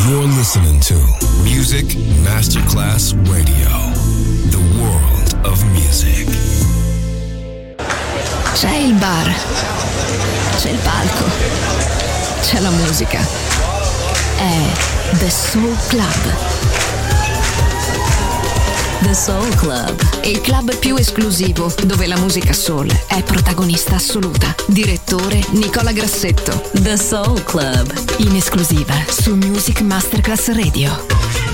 You're listening to Music Masterclass Radio, the world of music. C'è il bar, c'è il palco, c'è la musica. È The Soul Club. The Soul Club, il club più esclusivo dove la musica soul è protagonista assoluta. Direttore Nicola Grassetto. The Soul Club, in esclusiva su Music Masterclass Radio.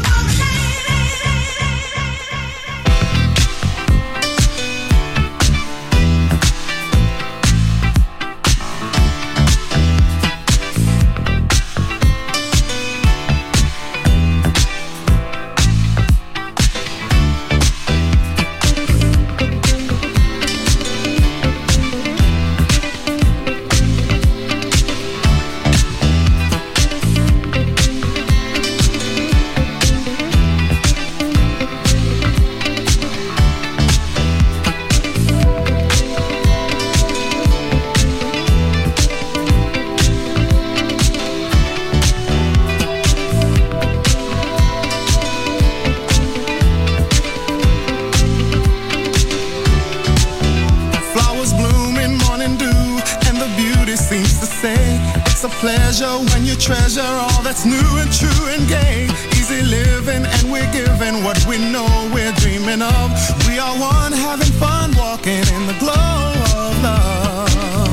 Treasure all that's new and true and gay. Easy living and we're giving what we know we're dreaming of. We are one having fun walking in the glow of love.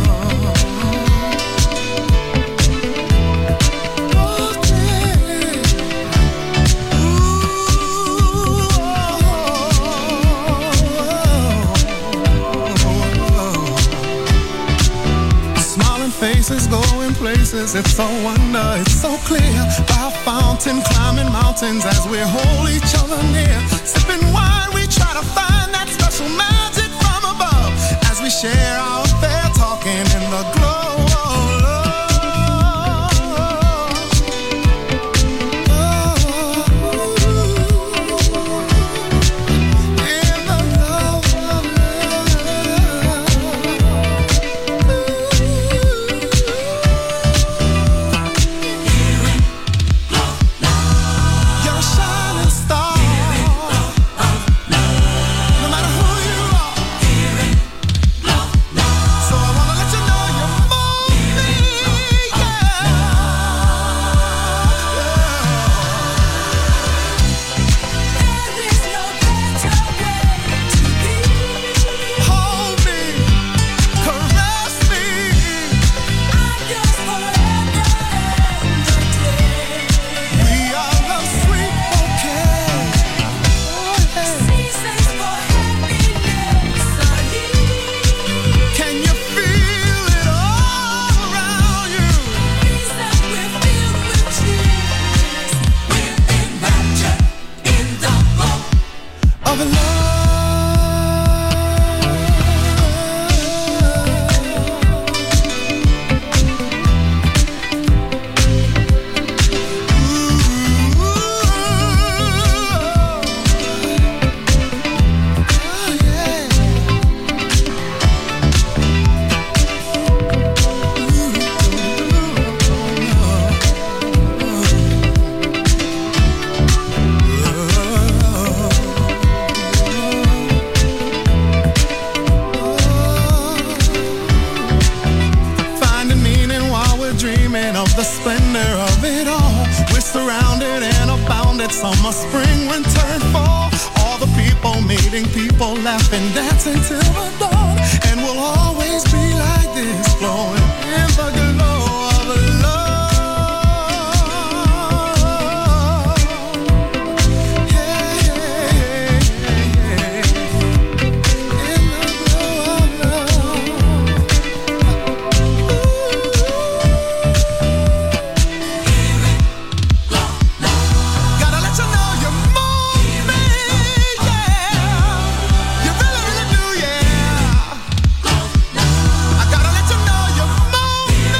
Faces going places, it's so wonder, it's so clear. By a fountain, climbing mountains as we hold each other near. Sipping wine, we try to find that special magic from above. As we share our affair, talking in the glow of love. Summer, spring, winter, and fall. All the people meeting people, laughing, dancing till the dawn. And we'll always be like this, flowing in the glow of love. Hey, hey, hey, hey. In the glow of love. Gotta let you know you move me, yeah. You really, really do, yeah. I gotta let you know you move me.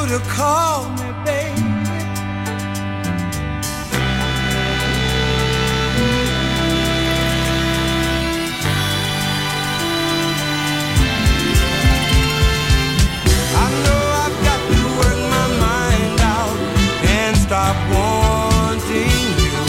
to call me, baby. I know I've got to work my mind out and stop wanting you.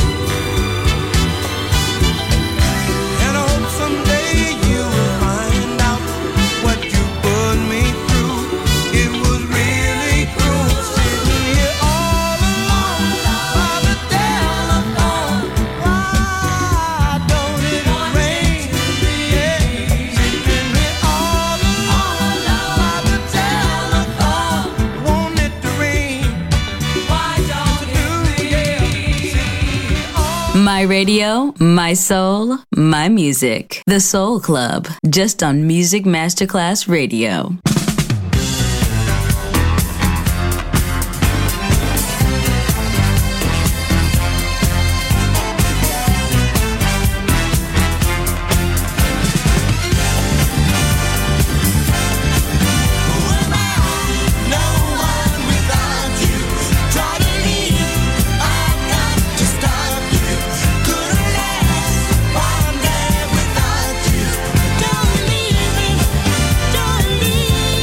And I hope someday you will find out what you put me through. It was really cruel sitting here all alone by the telephone. Why don't it rain? Yeah, sitting here all alone by the telephone. Want it to rain? Why don't it rain? My radio, my soul, my music. The Soul Club, just on Music Masterclass Radio. Don't leave me.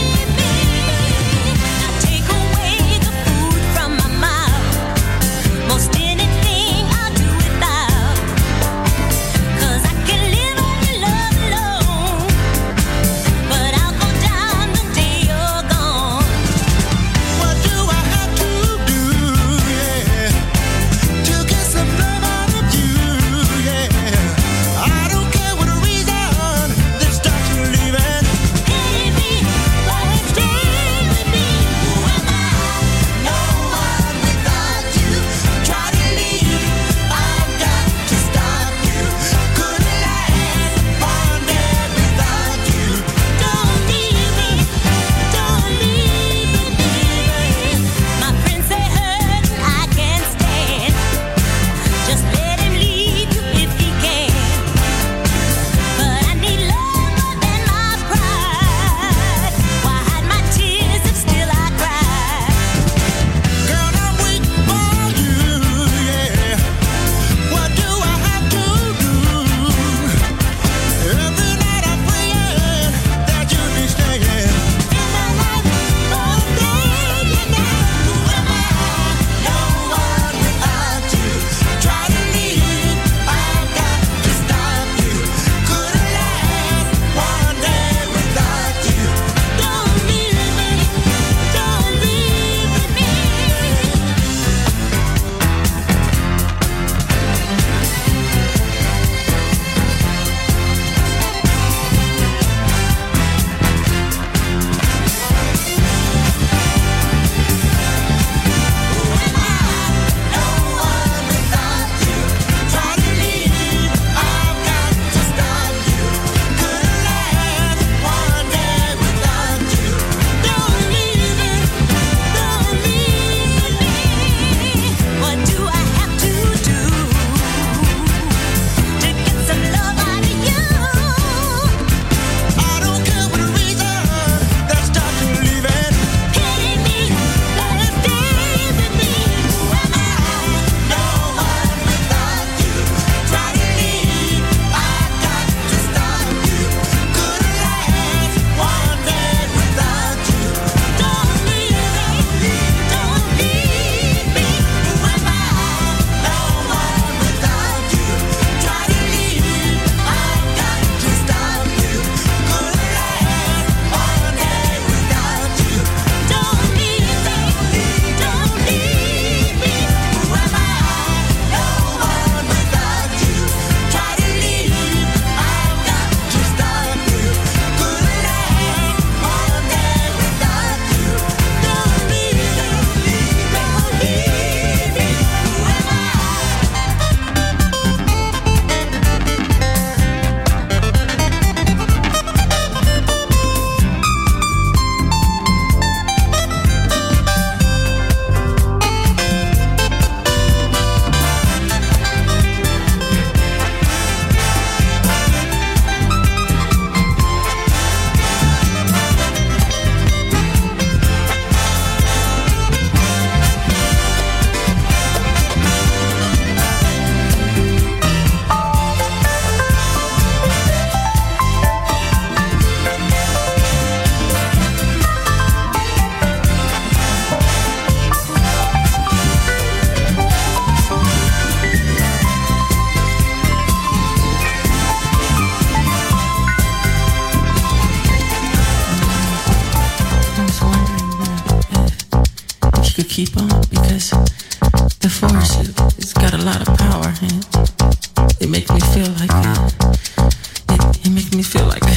keep on because the force has got a lot of power and it makes me feel like it makes me feel like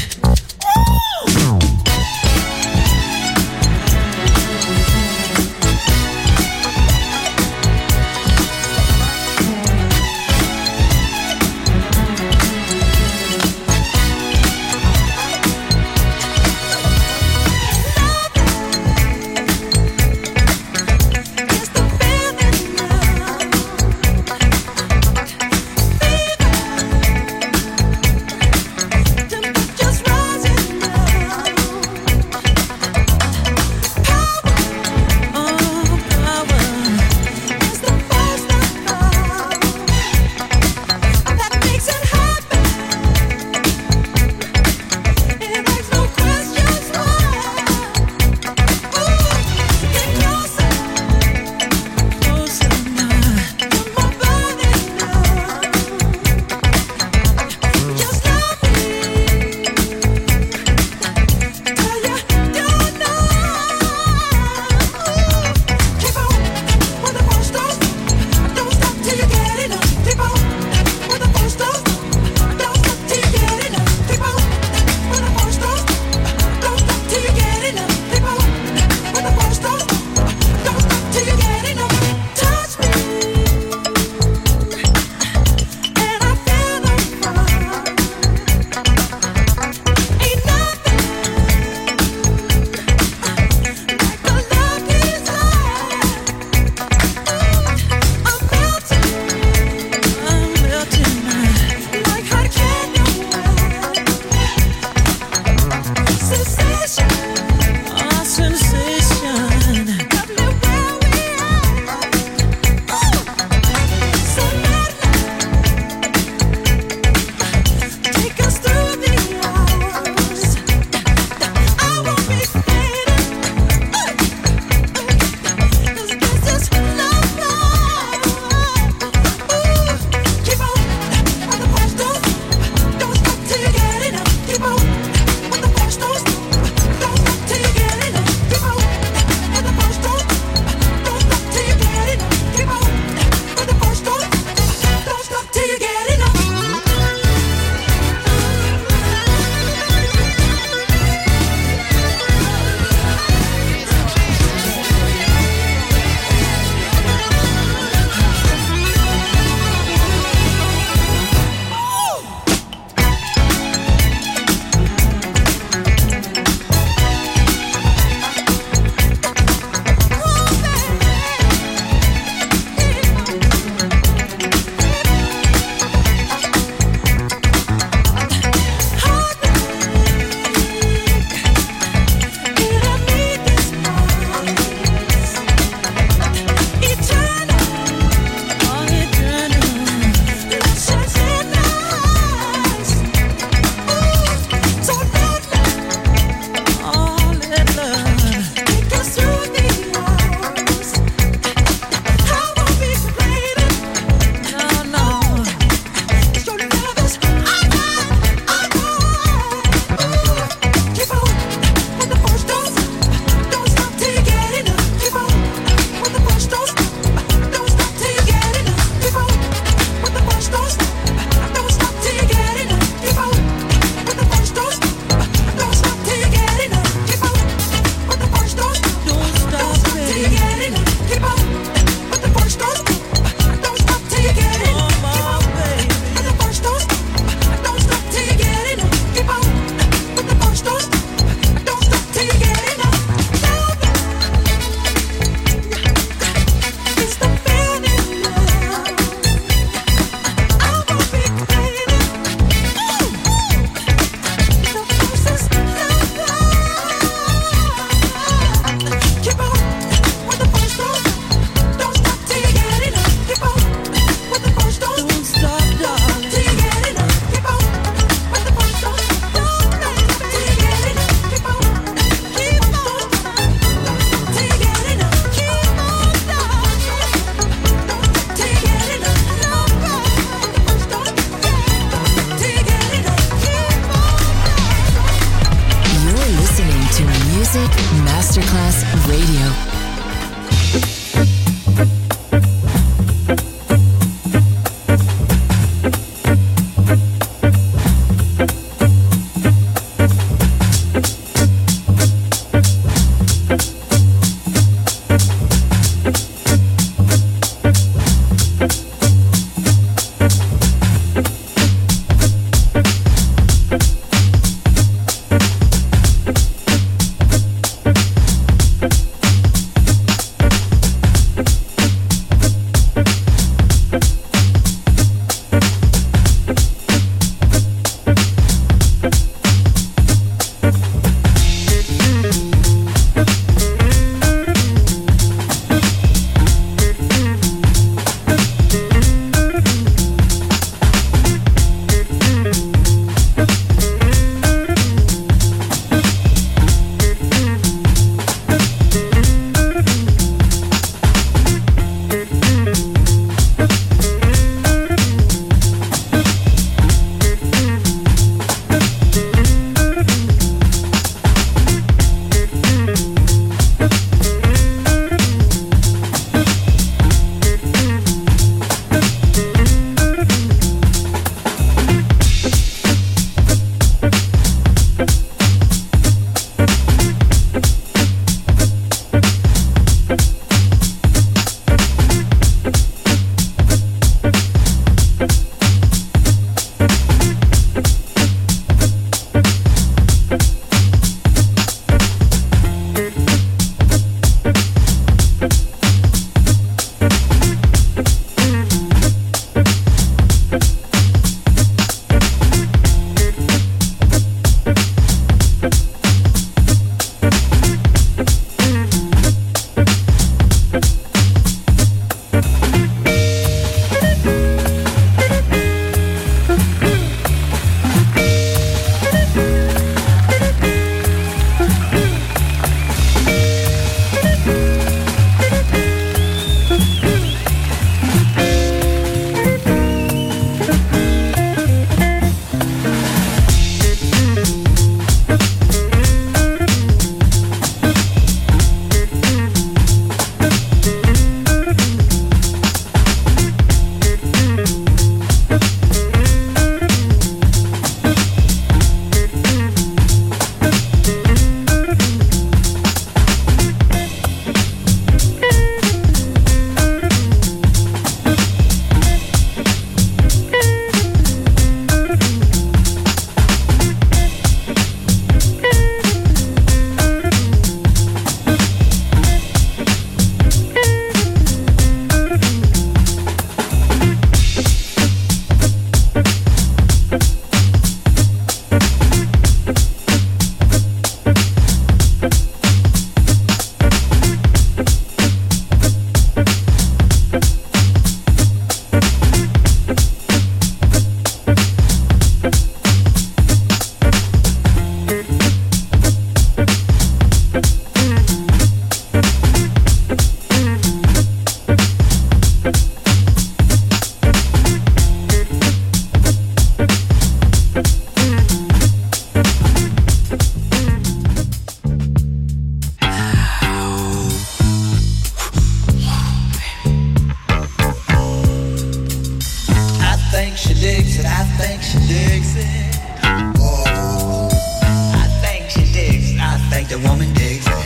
think she digs it. Oh, I think she digs it. I think the woman digs it.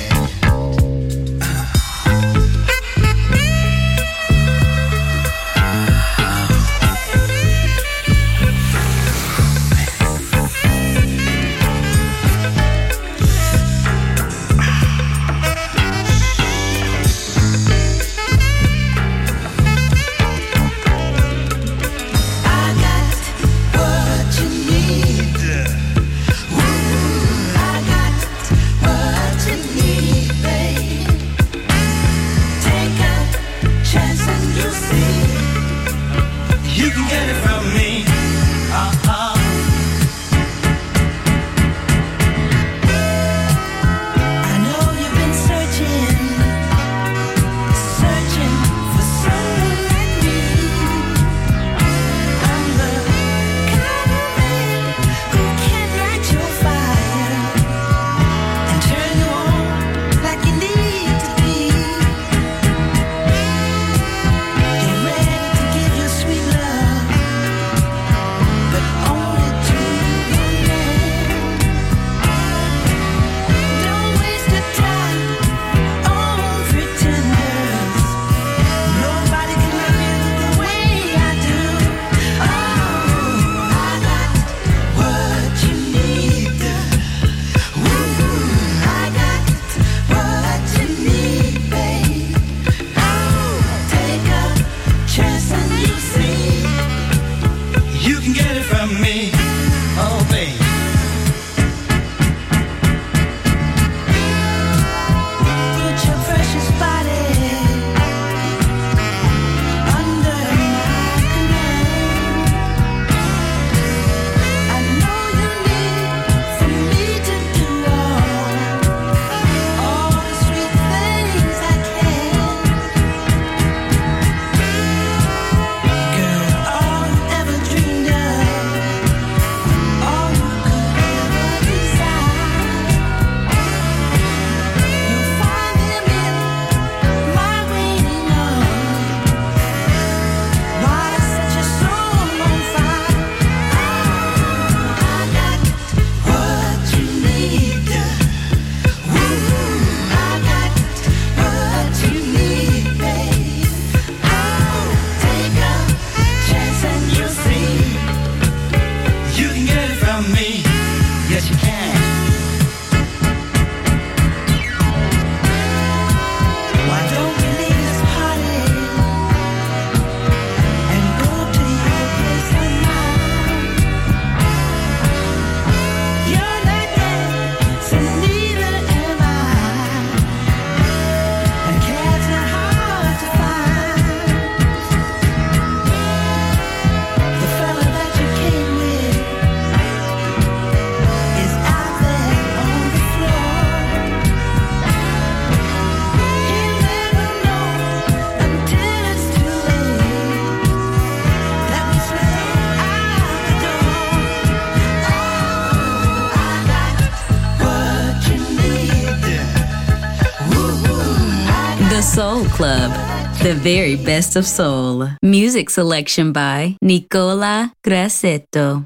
Soul Club, the very best of soul. Music selection by Nicola Grassetto.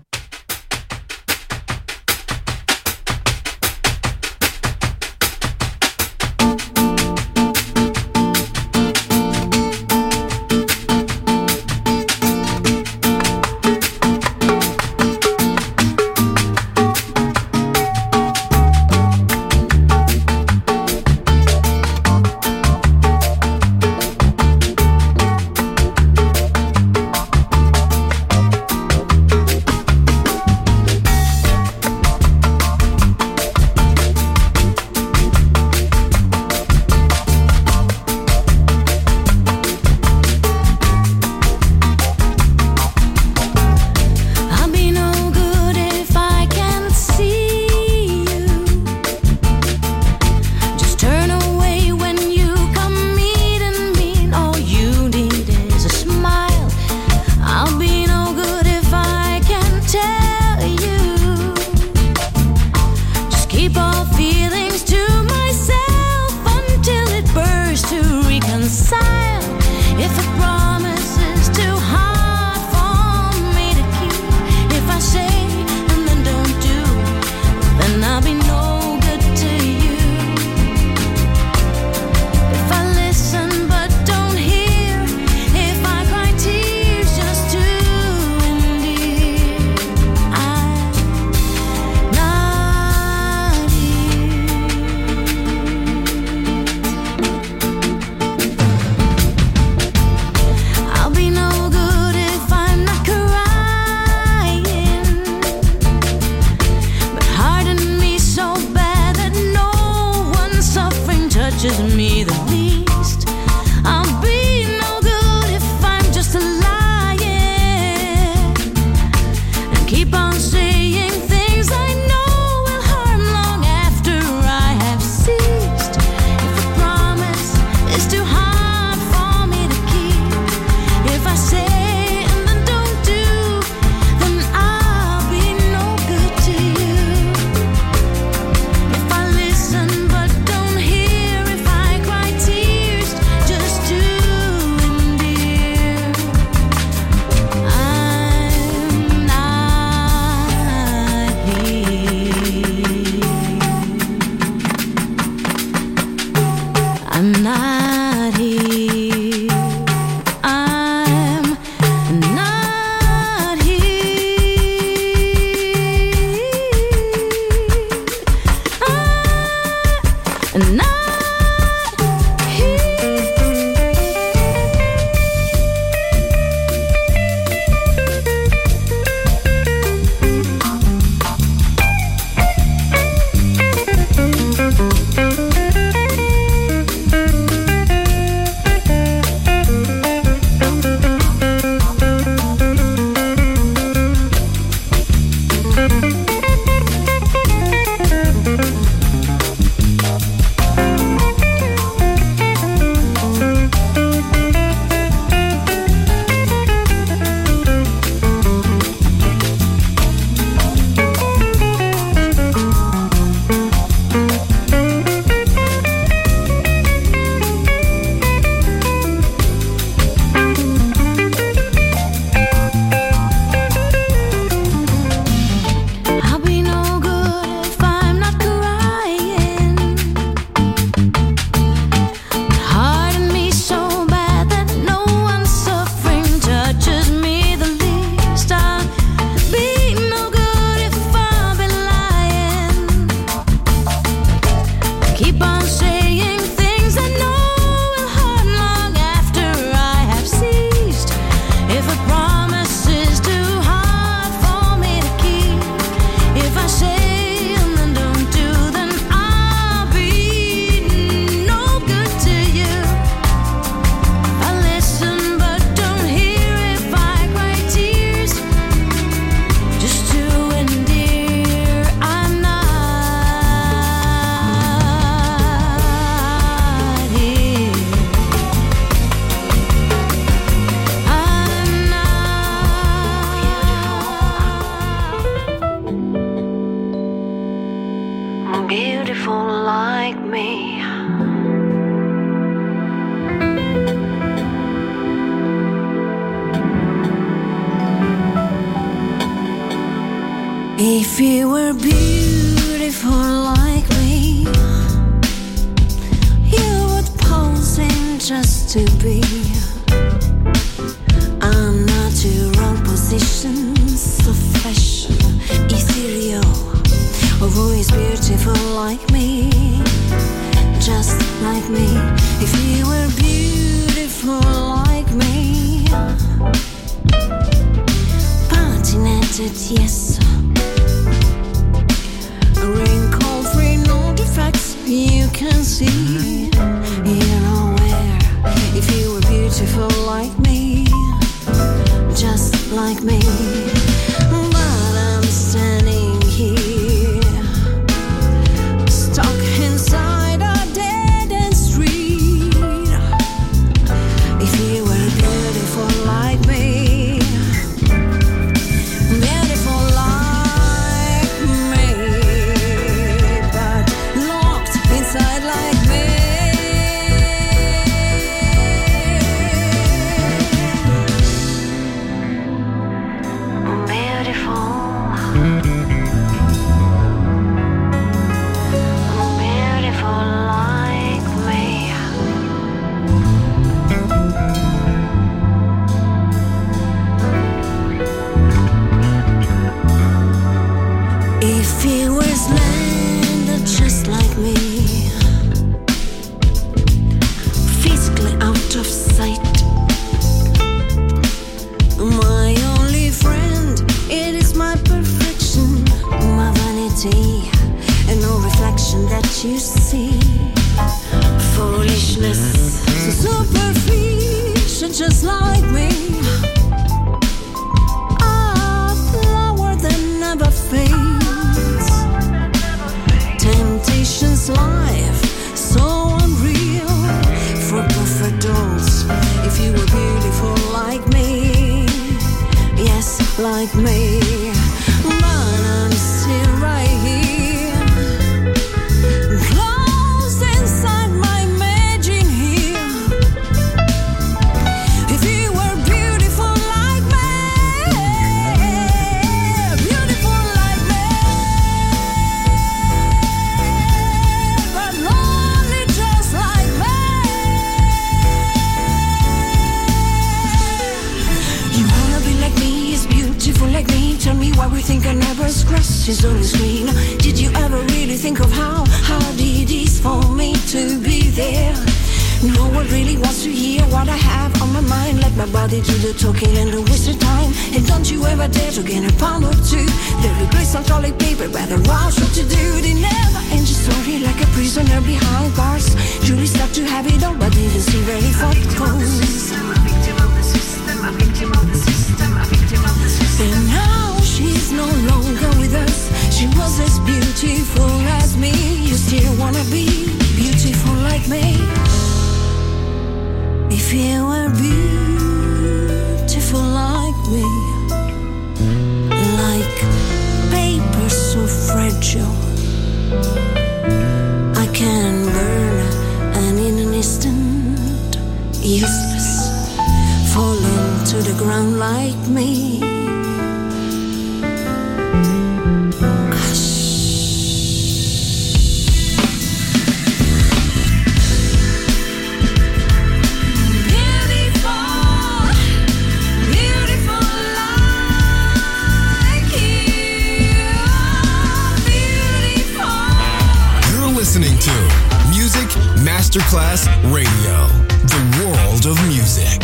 If you were beautiful like me, you would pose in just to be. I'm not your wrong position, so fashion, ethereal. Oh, who is beautiful like me, just like me? If you were beautiful like me, patinated, yes. Wrinkle-free, no defects you can see. You're aware. If you were beautiful like me, just like me. But I'm standing here, stuck inside a dead-end street. If you were beautiful like me, beautiful like me, but locked inside like me. If you were slender just like me, physically out of sight, my only friend, it is my perfection, my vanity, and no reflection that you see. Foolishness, so superficial just like me. A flower that never fades. Temptation's life, so unreal for perfect dolls. If you were beautiful like me, yes, like me, but I'm still right here, closed inside my imagine here. If you were beautiful like me, beautiful like me, but lonely just like me. You wanna be like me, is beautiful like me. Tell me why we think our neighbor's grass is always green. Did you ever really think of how hard it is for me to be there? No one really wants to hear what I have on my mind. Let my body do the talking and the waste of time. And don't you ever dare to get a pound or two. They replace some toilet paper by the rush what to do. They never end your story like a prisoner behind bars. Julie stuck to have it all but didn't see very far it goes. And now she's no longer with us. She was as beautiful as me. You still wanna be beautiful like me. If you were beautiful like me, like paper so fragile, I can burn and in an instant, useless, falling to the ground like me. Masterclass Radio, the world of music.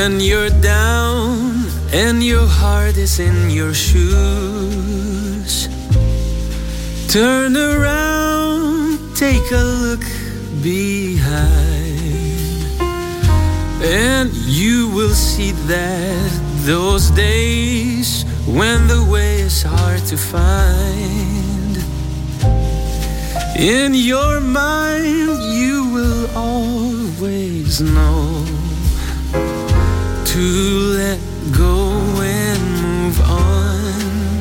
When you're down and your heart is in your shoes, turn around, take a look behind, and you will see that those days when the way is hard to find, in your mind you will always know to let go and move on.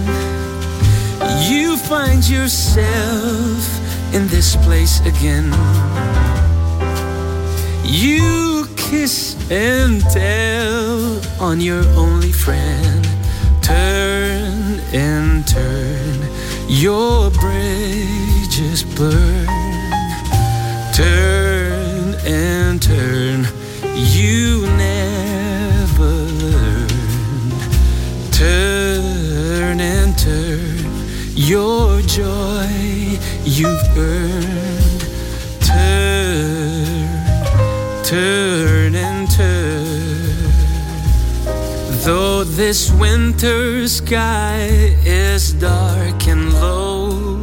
You find yourself in this place again. You kiss and tell on your only friend. Turn and turn, your bridges burn. Turn and turn, you never learn. Turn and turn, your joy you've earned. Turn and turn. Though this winter sky is dark and low,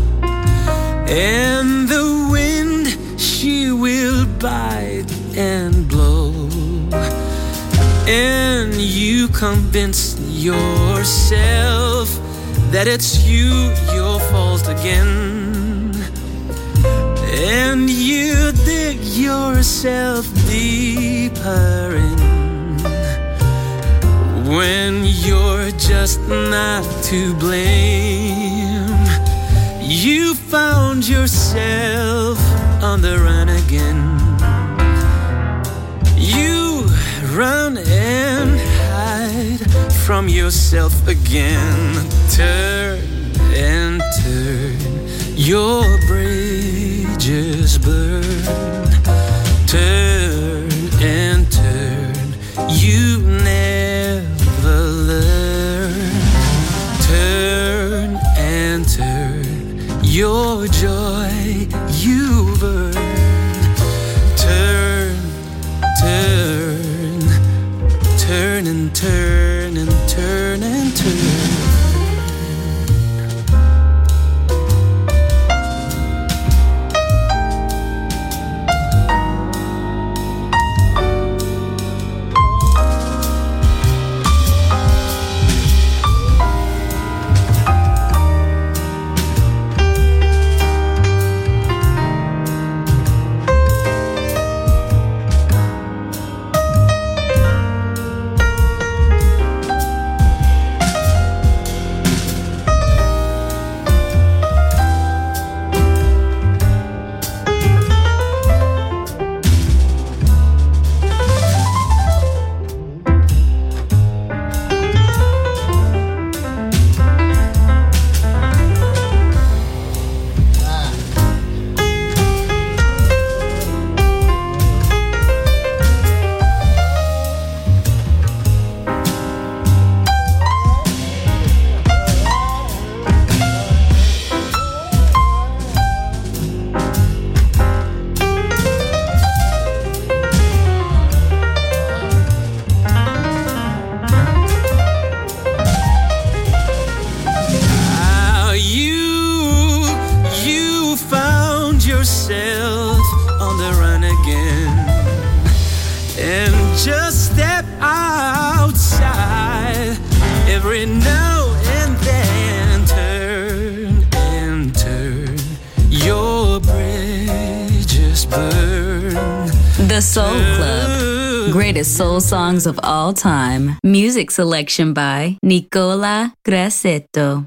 and the wind she will bite and blow, and you convince yourself that it's your fault again, and you dig yourself deeper in, when you're just not to blame. You found yourself on the run again. You run and hide from yourself again. Turn and turn, your bridges burn. Turn and turn, you never learn. Turn and turn, your joy you've earned. Turn, turn, turn and turn and turn and turn. The Soul Club. Greatest soul songs of all time. Music selection by Nicola Grassetto.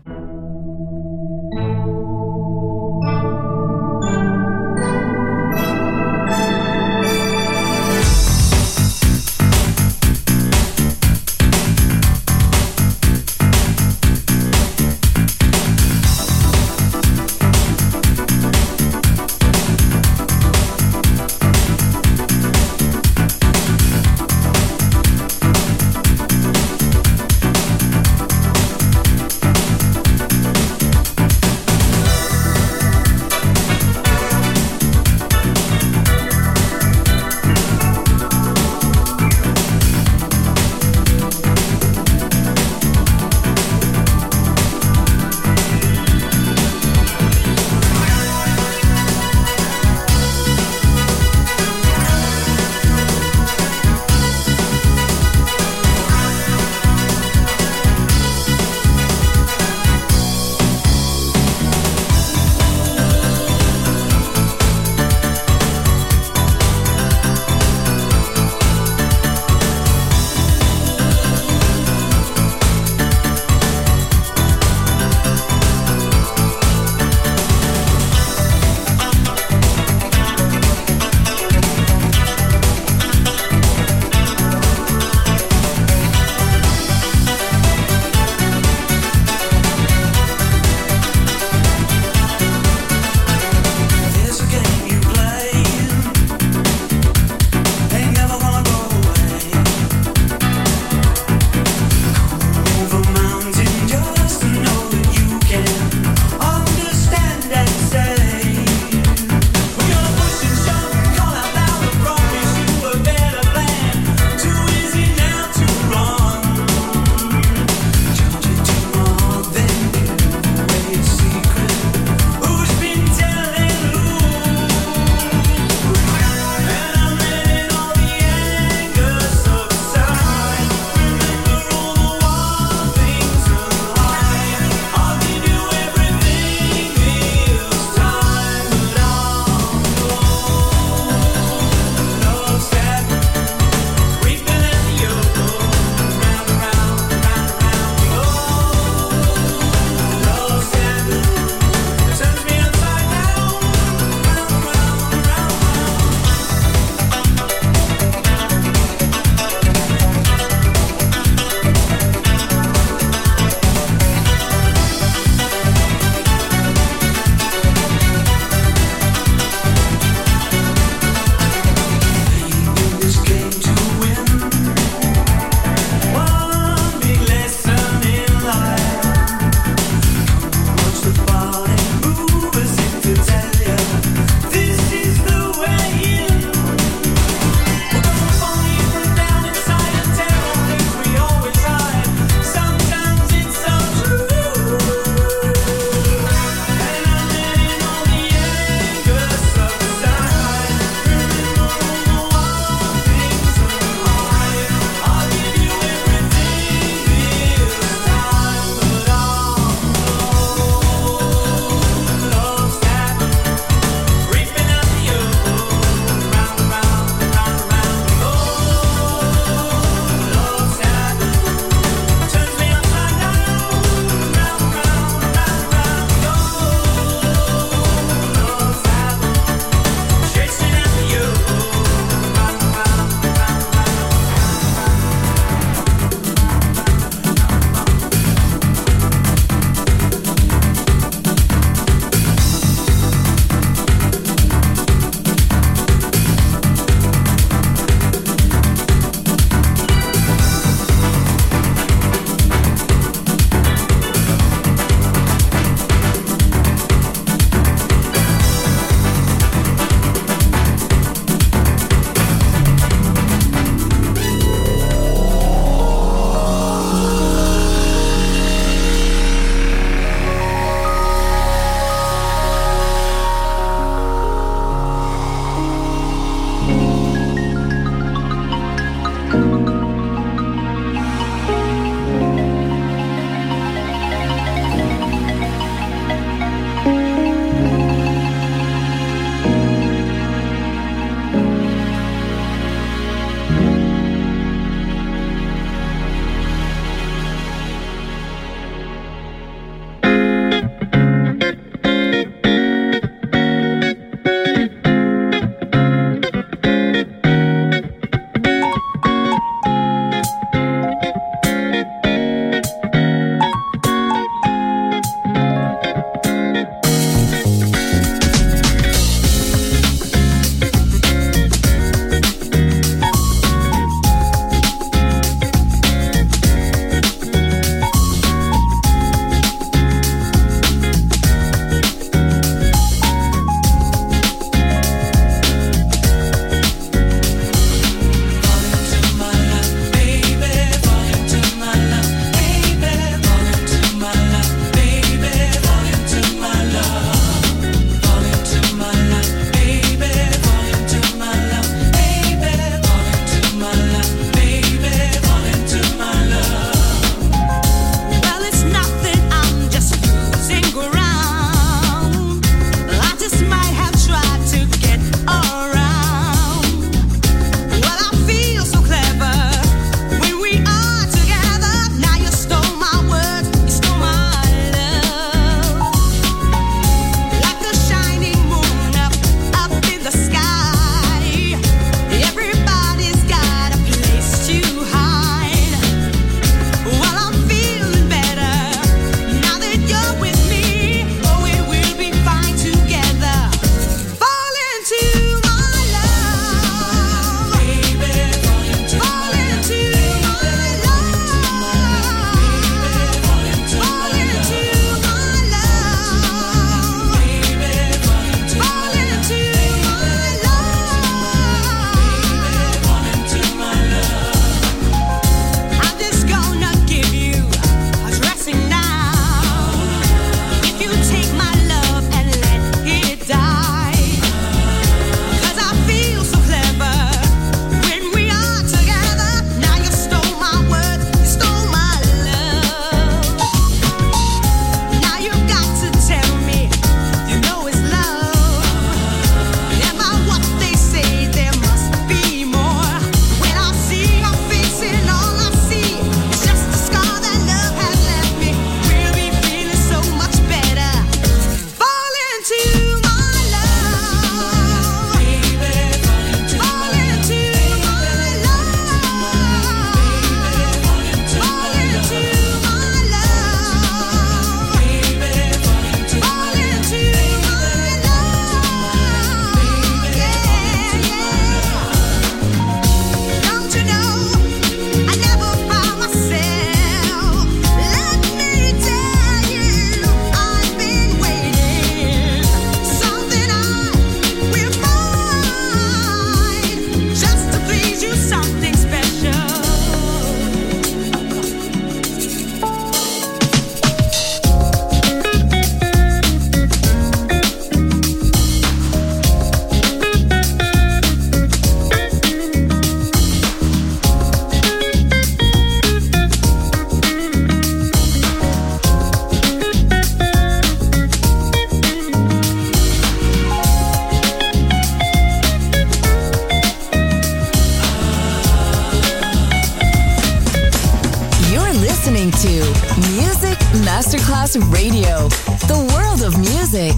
Masterclass Radio, the world of music.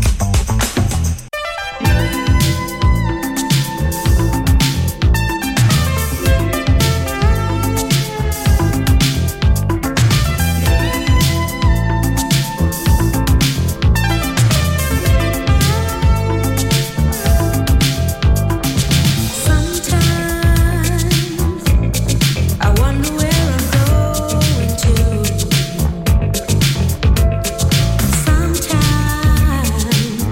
Sometimes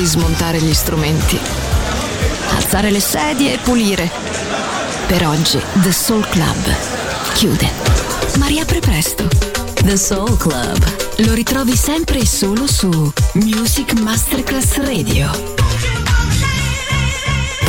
di smontare gli strumenti, alzare le sedie e pulire. Per oggi The Soul Club chiude, ma riapre presto. The Soul Club lo ritrovi sempre e solo su Music Masterclass Radio.